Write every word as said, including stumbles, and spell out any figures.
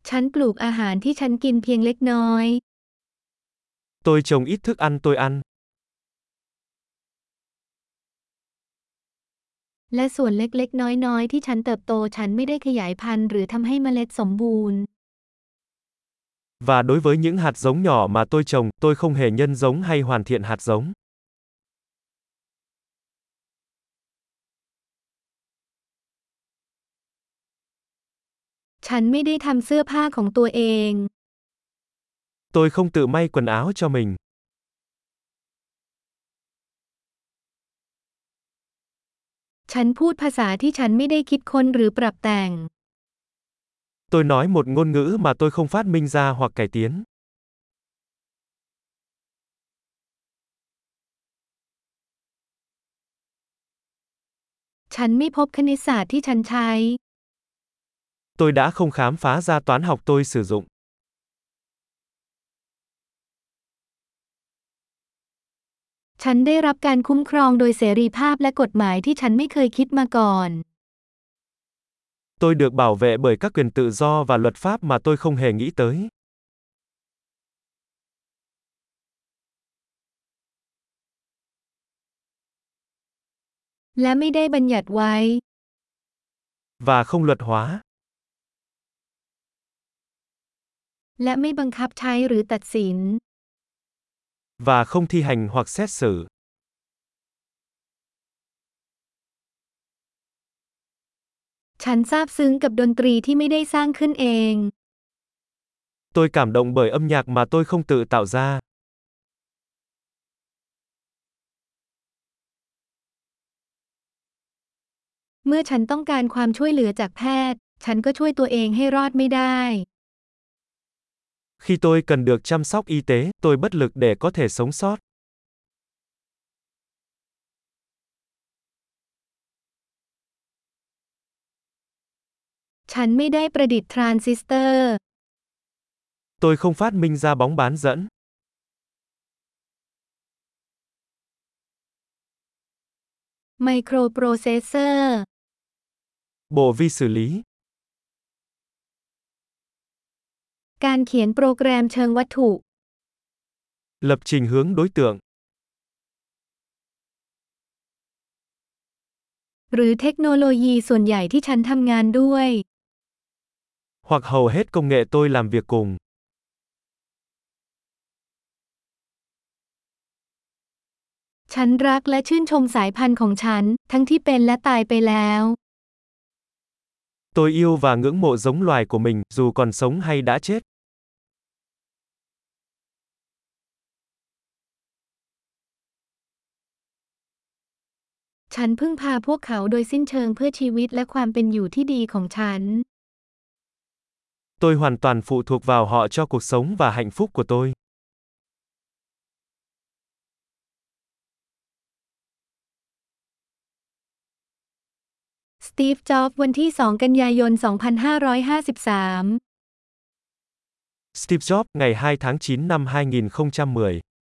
ฉันปลูกอาหารที่ฉันกินเพียงเล็กน้อย Tôi trồng ít thức ăn tôi ăn. และส่วนเล็กๆน้อยๆที่ฉันเติบโตฉันไม่ได้ขยายพันธุ์หรือทำให้เมล็ดสมบูรณ์ Và đối với những hạt giống nhỏ mà tôi trồng, tôi không hề nhân giống hay hoàn thiện hạt giống. ฉันไม่ได้ทำเสื้อผ้าของตัวเอง Tôi không tự may quần áo cho mình. ฉันพูดภาษาที่ฉันไม่ได้คิดค้นหรือปรับแต่ง Tôi nói một ngôn ngữ mà tôi không phát minh ra hoặc cải tiến. ฉันไม่พบคณิตศาสตร์ที่ฉันใช้ Tôi đã không khám phá ra toán học tôi sử dụng. ฉันได้รับการคุ้มครองโดยเสรีภาพและกฎหมายที่ฉันไม่เคยคิดมาก่อน Tôi được bảo vệ bởi các quyền tự do và luật pháp mà tôi không hề nghĩ tới. และไม่ได้บัญญัติไว้ Và không luật hóa. และไม่บังคับใช้หรือตัดสิน Và không thi hành hoặc xét xử. ฉันซาบซึ้งกับดนตรีที่ไม่ได้สร้างขึ้นเอง Tôi cảm động bởi âm nhạc mà tôi không tự tạo ra. เมื่อฉันต้องการความช่วยเหลือจากแพทย์ ฉันก็ช่วยตัวเองให้รอดไม่ได้ Khi tôi cần được chăm sóc y tế, tôi bất lực để có thể sống sót. ฉันไม่ได้ประดิษฐ์ทรานซิสเตอร์ Tôi không phát minh ra bóng bán dẫn. ไมโครโปรเซสเซอร์ Bộ vi xử lý. การเขียนโปรแกรมเชิงวัตถุ Lập trình hướng đối tượng. หรือเทคโนโลยีส่วนใหญ่ที่ฉันทำงานด้วย Hoặc hầu hết công nghệ tôi làm việc cùng. ฉันรักและชื่นชมสายพันธุ์ของฉัน ทั้งที่เป็นและตายไปแล้ว Tôi yêu và ngưỡng mộ giống loài của mình, dù còn sống hay đã chết. ฉันพึ่งพาพวกเขาโดยสิ้นเชิงเพื่อชีวิตและความเป็นอยู่ที่ดีของฉัน Tôi hoàn toàn phụ thuộc vào họ cho cuộc sống và hạnh phúc của tôi. สตีฟ จ็อบส์ วันที่ สอง กันยายน สองพันห้าร้อยห้าสิบสาม Steve Jobs, ngày hai tháng chín năm hai nghìn không trăm mười